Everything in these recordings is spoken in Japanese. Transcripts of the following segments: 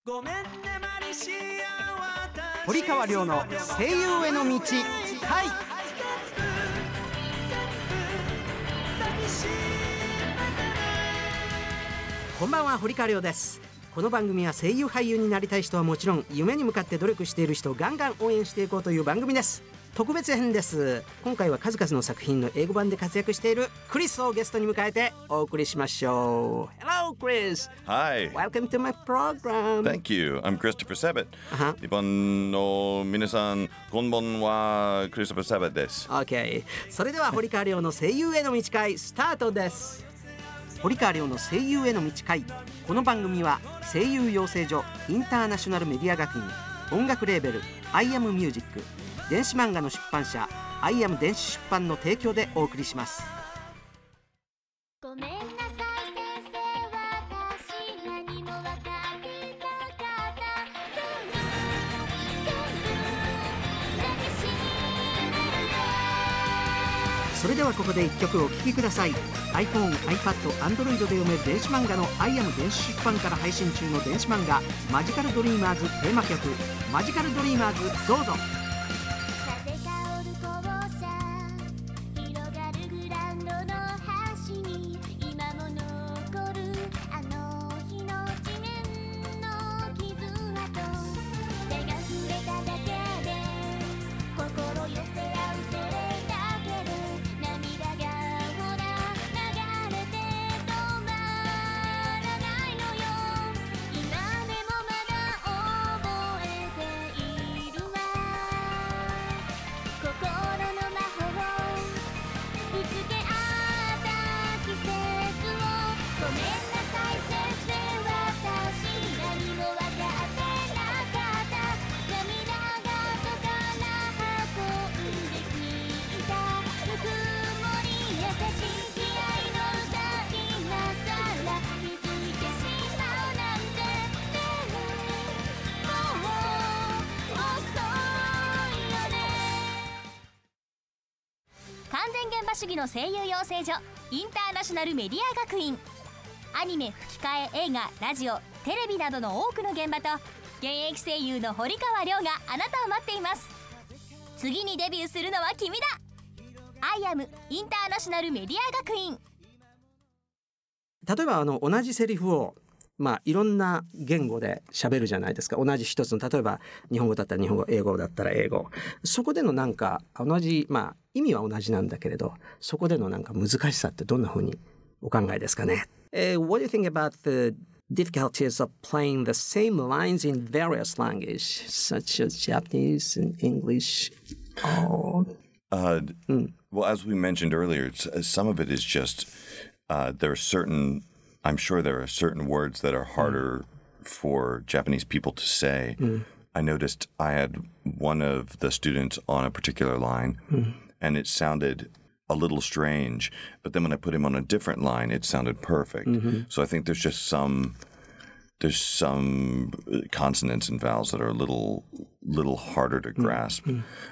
堀川亮の声優への道。はい、こんばんは、堀川亮です。この番組は声優俳優になりたい人はもちろん、夢に向かって努力している人をガンガン応援していこうという番組です。特別編です。今回は数々の作品の英語版で活躍しているクリスをゲストに迎えてお送りしましょう。 Hello Chris. Hi. Welcome to my program. Thank you. I'm Christopher Sabat. 日本の皆さん、こんばんは。Christopher Sabat です。 OK。 それでは堀川亮の声優への道会スタートです。堀川亮の声優への道会。この番組は声優養成所インターナショナルメディア学院、音楽レーベル I am Music、電子漫画の出版社 I am 電子出版の提供でお送りします。 ごめんなさい先生、私何も分かってなかった。 それではここで1曲お聴きください。 iPhone、iPad、Android で読める電子漫画の I am 電子出版から配信中の電子漫画マジカルドリーマーズテーマ曲、マジカルドリーマーズ、どうぞ。 風香る校舎、広がるグラウンドの端に今も残るあの日の地面の傷跡、手が触れただけで心寄せ合うそれだけで涙がほら流れて止まらないのよ。今でもまだ覚えているわ、心の魔法ぶつけ合った季節を。ごめんなさい先生、私何も分かってなかった。涙が後から運んできたぬくもり優しい愛の歌、今さら気づいてしまうなんてね。もう遅いよね。完全現場主義の声優養成所インターナショナルメディア学院、アニメ、吹き替え、映画、ラジオ、テレビなどの多くの現場と現役声優の堀川亮があなたを待っています。次にデビューするのは君だ。アイアムインターナショナルメディア学院。 例えば同じセリフをいろんな言語で喋るじゃないですか。同じ一つの、例えば日本語だったら日本語、英語だったら英語。そこでのなんか同じ、意味は同じなんだけれど、そこでのなんか難しさってどんな風にお考えですかね。What do you think about the difficulties of playing the same lines in various languages, such as Japanese and English? Well, as we mentioned earlier, some of it is just there are certain. I'm sure there are certain words that are harder for Japanese people to say. I noticed I had one of the students on a particular line, and it sounded a little strange. But then when I put him on a different line, it sounded perfect. So I think there's some consonants and vowels that are a little harder to grasp.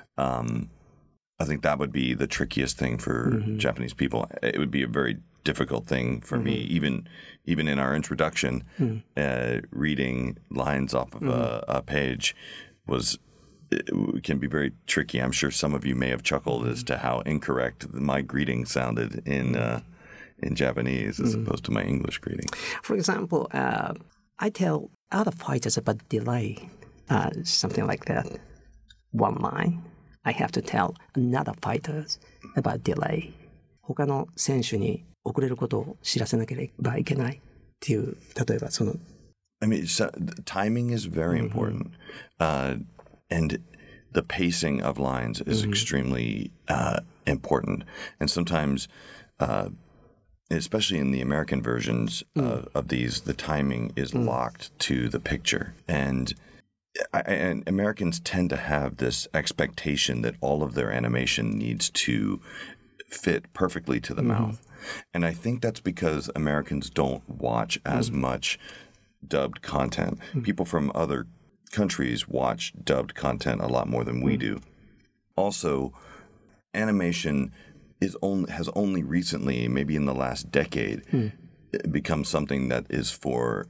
I think that would be the trickiest thing for Japanese people. It would be a very difficult thing for me, even in our introduction, reading lines off of a page can be very tricky. I'm sure some of you may have chuckled as to how incorrect my greeting sounded in Japanese as opposed to my English greeting. For example, I tell other fighters about delay, something like that. One line, I have to tell another fighters about delay. 他の選手に遅れることを知らせなければいけないっていう、例えばその I mean, timing is very important, and the pacing of lines is extremely important. And sometimes, especially in the American versions of these, the timing is locked to the picture. And Americans tend to have this expectation that all of their animation needs to fit perfectly to the mouth. And I think that's because Americans don't watch as much dubbed content. People from other countries watch dubbed content a lot more than we do. Also, animation has only recently, maybe in the last decade, become something that is for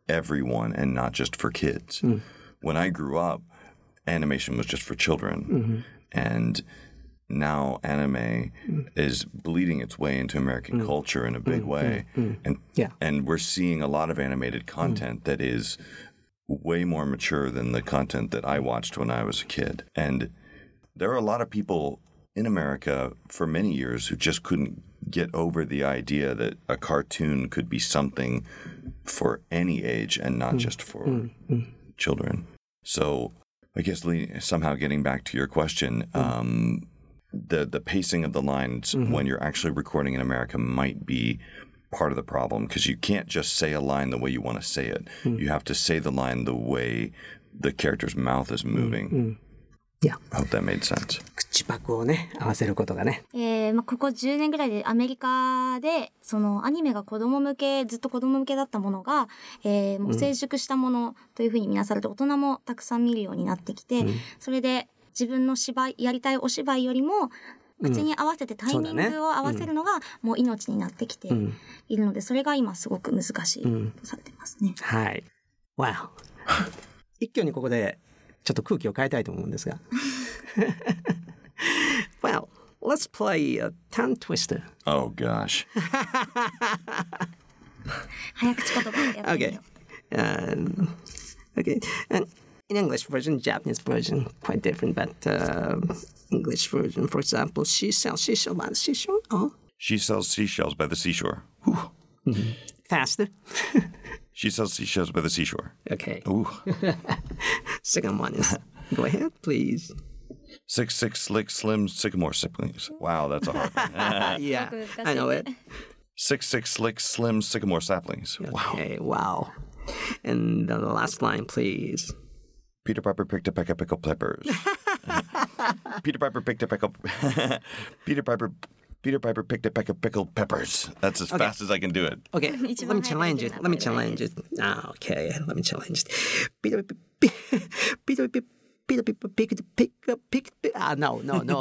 everyone and not just for kids. When I grew up, animation was just for children. And now anime is bleeding its way into American culture in a big way. And we're seeing a lot of animated content that is way more mature than the content that I watched when I was a kid. And there are a lot of people in America for many years who just couldn't get over the idea that a cartoon could be something for any age and not just for children. So I guess, Lee, somehow getting back to your question, the pacing of the lines when you're actually recording in America might be part of the problem, because you can't just say a line the way you want to say it. You have to say the line the way the character's mouth is moving. Yeah. I hope that made sense. 口パクをね合わせることがね。 ここ10年ぐらいでアメリカでそのアニメがずっと子供向けだったものが、もう成熟したものというふうに見なされて大人もたくさん見るようになってきて、それで自分のやりたいお芝居よりも口に合わせてタイミングを合わせるのがもう命になってきているので、それが今すごく難しいとされてますね。 はい。Wow。一挙にここでちょっと空気を変えたいと思うんですが。Well, let's play a tongue twister. Oh gosh. 早口言葉をやってみよう。 Okay. And in English version, Japanese version, quite different. But English version, for example, she sells seashell by the seashore. Oh. She sells seashells by the seashore. Faster. She sells seashells by the seashore. Okay. Ooh. Second one is, go ahead, please. 6 slick slim sycamore saplings. Wow, that's a hard one. Yeah, I know it. 6 slick slim sycamore saplings. Wow. Okay, wow. And the last line, please. Peter Piper picked a peck of pickled peppers. Peter Piper picked a peck of... Peter Piper picked a peck of pickled peppers. That's as fast as I can do it. Okay, let me challenge it. Okay, let me challenge it. Peter picked. No.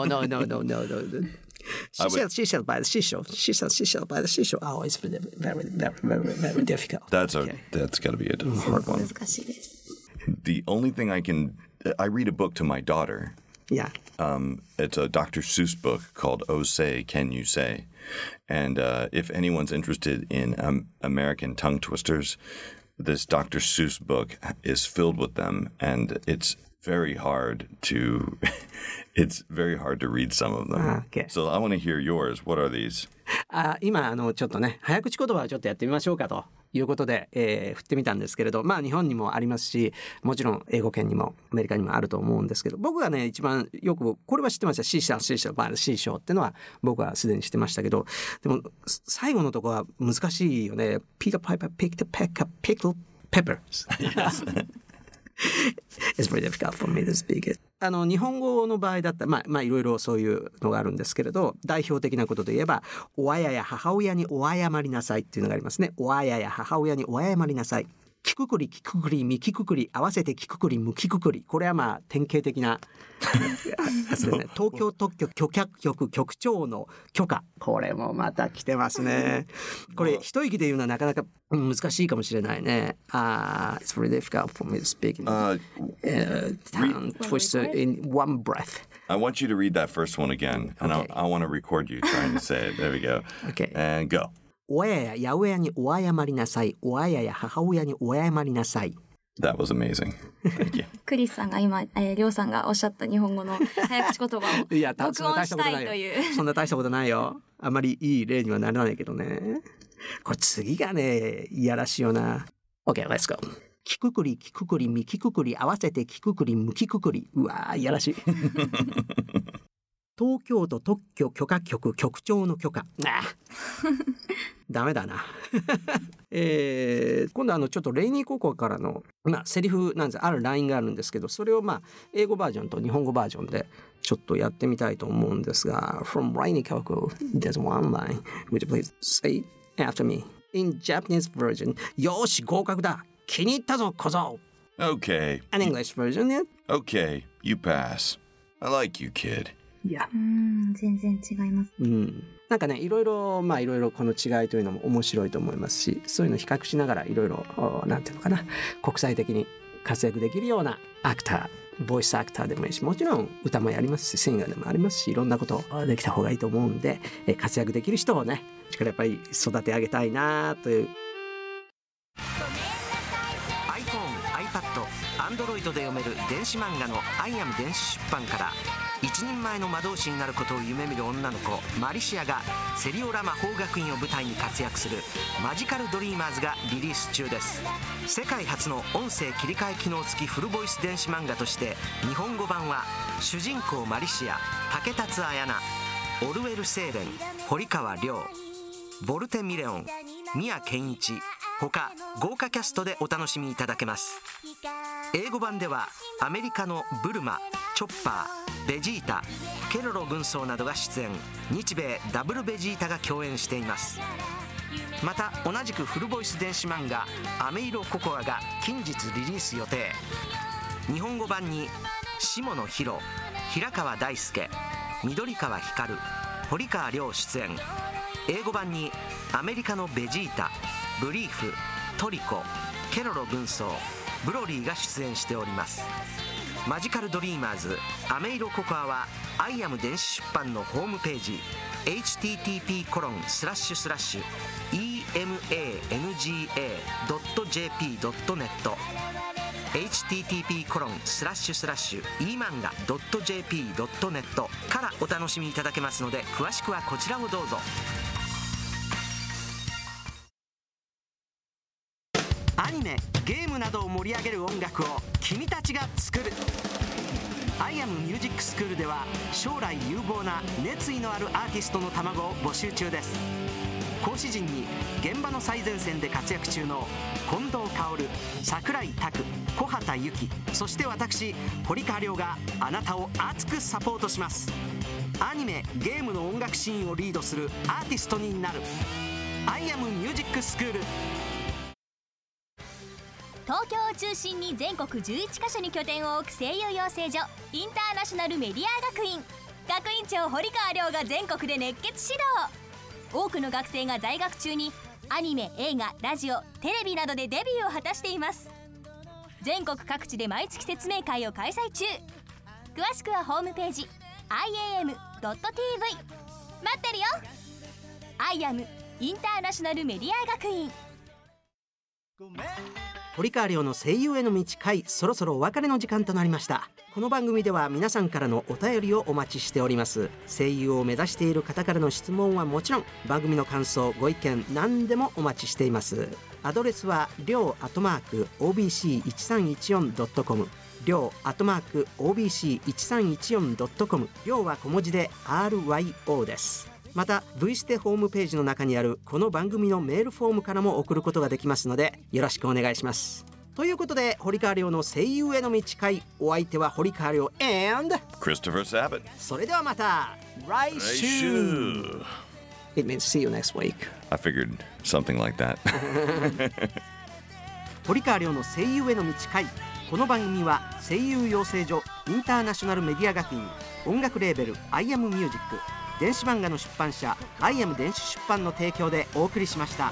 She shall by the seashore. She shall by the seashore. Oh, it's very, very, very, very difficult. That's got to be a hard one. 難しいです。 The only thing I read a book to my daughter. Yeah. It's a Dr. Seuss book called Oh Say, Can You Say? And if anyone's interested in American tongue twisters, this Dr. Seuss book is filled with them, and it's very hard to read some of them. Okay. So I want to hear yours. What are these? 今ちょっとね早口言葉をちょっとやってみましょうかということで、振ってみたんですけれど、まあ日本にもありますし、もちろん英語圏にもアメリカにもあると思うんですけど、僕がね一番よくこれは知ってました。シーシャバーシーショーっていうのは僕はすでに知ってましたけど、でも最後のとこは難しいよね。Peter Piper picked a peck of pickled peppers. It's very difficult for me to speak it. 日本語の場合だったらまあいろいろそういうのがあるんですけれど、代表的なことで言えば親や母親にお謝りなさいっていうのがありますね。親や母親にお謝りなさい。きくくりきくくりみきくくり合わせてきくくりむきくくり、これはまあ典型的なね、東京特許許可局局長の許可、これもまた来てますね。これ一息で言うのはなかなか難しいかもしれないね。It's very difficult for me to speak tongue twister in one breath. I want you to read that first one again, and Okay. I want to record you trying to say it. There we go. Okay. And go. 親や八百屋にお謝りなさい。親や母親にお謝りなさい。 That was amazing. Thank you. クリスさんが今、りょうさんがおっしゃった日本語の早口言葉をいや、 録音したいという。 そんな大したことないよ。あまりいい例にはならないけどね。これ次がね、いやらしいよな。OK, let's go. きくくり、きくくり、みきくくり、合わせてきくくり、むきくくり。うわー、いやらしい。東京都特許許可局局長の許可。ダメだな。今度ちょっとレイニー高校からの、セリフなんですあるラインがあるんですけど、それを英語バージョンと日本語バージョンでちょっとやってみたいと思うんですが、From Rainy Koko, there's one line. Would you please say after me? In Japanese version, よーし合格だ気に入ったぞ小僧 Okay. An English version, yeah? Okay, you pass. I like you, kid. いや、 全然違います。 なんかね、いろいろこの違いというのも面白いと思いますし、そういうのを比較しながらいろいろなんていうのかな、国際的に活躍できるようなアクター、ボイスアクターでもいいし、もちろん歌もやりますし、シンガーでもありますし、いろんなことできた方がいいと思うんで、活躍できる人をね、やっぱり育て上げたいなという。 iPhone、iPad、Android で読める電子漫画のアイアム電子出版から、一人前の魔導士になることを夢見る女の子マリシアがセリオラ魔法学院を舞台に活躍するマジカルドリーマーズがリリース中です。世界初の音声切り替え機能付きフルボイス電子漫画として、日本語版は主人公マリシア、竹達彩奈、オルウェル・セーレン、堀川亮、ボルテ・ミレオン、宮健一他豪華キャストでお楽しみいただけます。英語版ではアメリカのブルマ、チョッパー、ベジータ、ケロロ軍曹などが出演、日米ダブルベジータが共演しています。また同じくフルボイス電子漫画アメイロココアが近日リリース予定。日本語版に下野紘、平川大輔、緑川光、堀川亮出演。英語版にアメリカのベジータ、ブリーフ、トリコ、ケロロ軍曹、ブロリーが出演しております。マジカルドリーマーズアメイロココアはアイアム電子出版のホームページ http://emanga.jp.net http://emanga.jp.net からお楽しみいただけますので、詳しくはこちらをどうぞ。アニメ、ゲームなどを盛り上げる音楽を君たちが作る。アイアムミュージックスクールでは将来有望な熱意のあるアーティストの卵を募集中です。講師陣に現場の最前線で活躍中の近藤薫、櫻井拓、小畑由紀、そして私堀川亮があなたを熱くサポートします。アニメ、ゲームの音楽シーンをリードするアーティストになる。アイアムミュージックスクール。 東京を中心に全国11カ所に拠点を置く声優養成所インターナショナルメディア学院。学院長堀川亮が全国で熱血指導。多くの学生が在学中にアニメ、映画、ラジオ、テレビなどでデビューを果たしています。全国各地で毎月説明会を開催中。詳しくはホームページ iam.tv。 待ってるよ。アイアムインターナショナルメディア学院。 堀川亮の声優への道回、そろそろお別れの時間となりました。この番組では皆さんからのお便りをお待ちしております。声優を目指している方からの質問はもちろん、番組の感想、ご意見何でもお待ちしています。アドレスは亮@obc1314.com、亮@obc1314.com、亮は小文字で RYO です。また V ステホームページの中にあるこの番組のメールフォームからも送ることができますので、よろしくお願いします。ということで、堀川亮の声優への道回、お相手は堀川亮 and Christopher Sabat。 それではまた来週。 It means see you next week. I figured something like that。 堀川亮の声優への道回。この番組は声優養成所インターナショナルメディア学院、音楽レーベル I am Music、電子漫画の出版社アイアム電子出版の提供でお送りしました。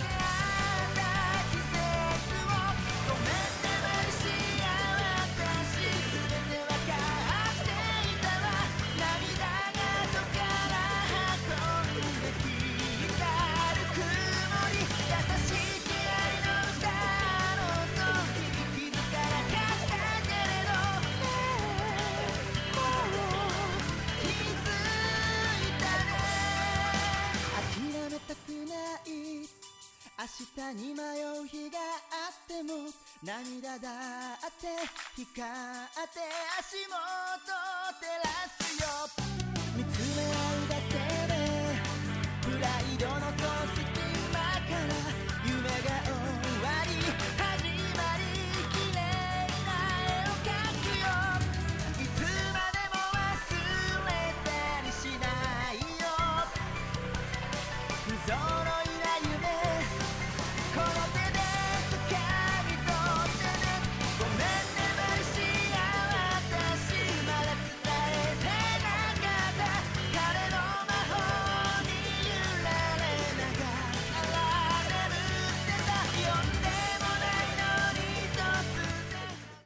明日に迷う日があっても、涙だって光って足元照らすよ。見つめ合うだけでプライドの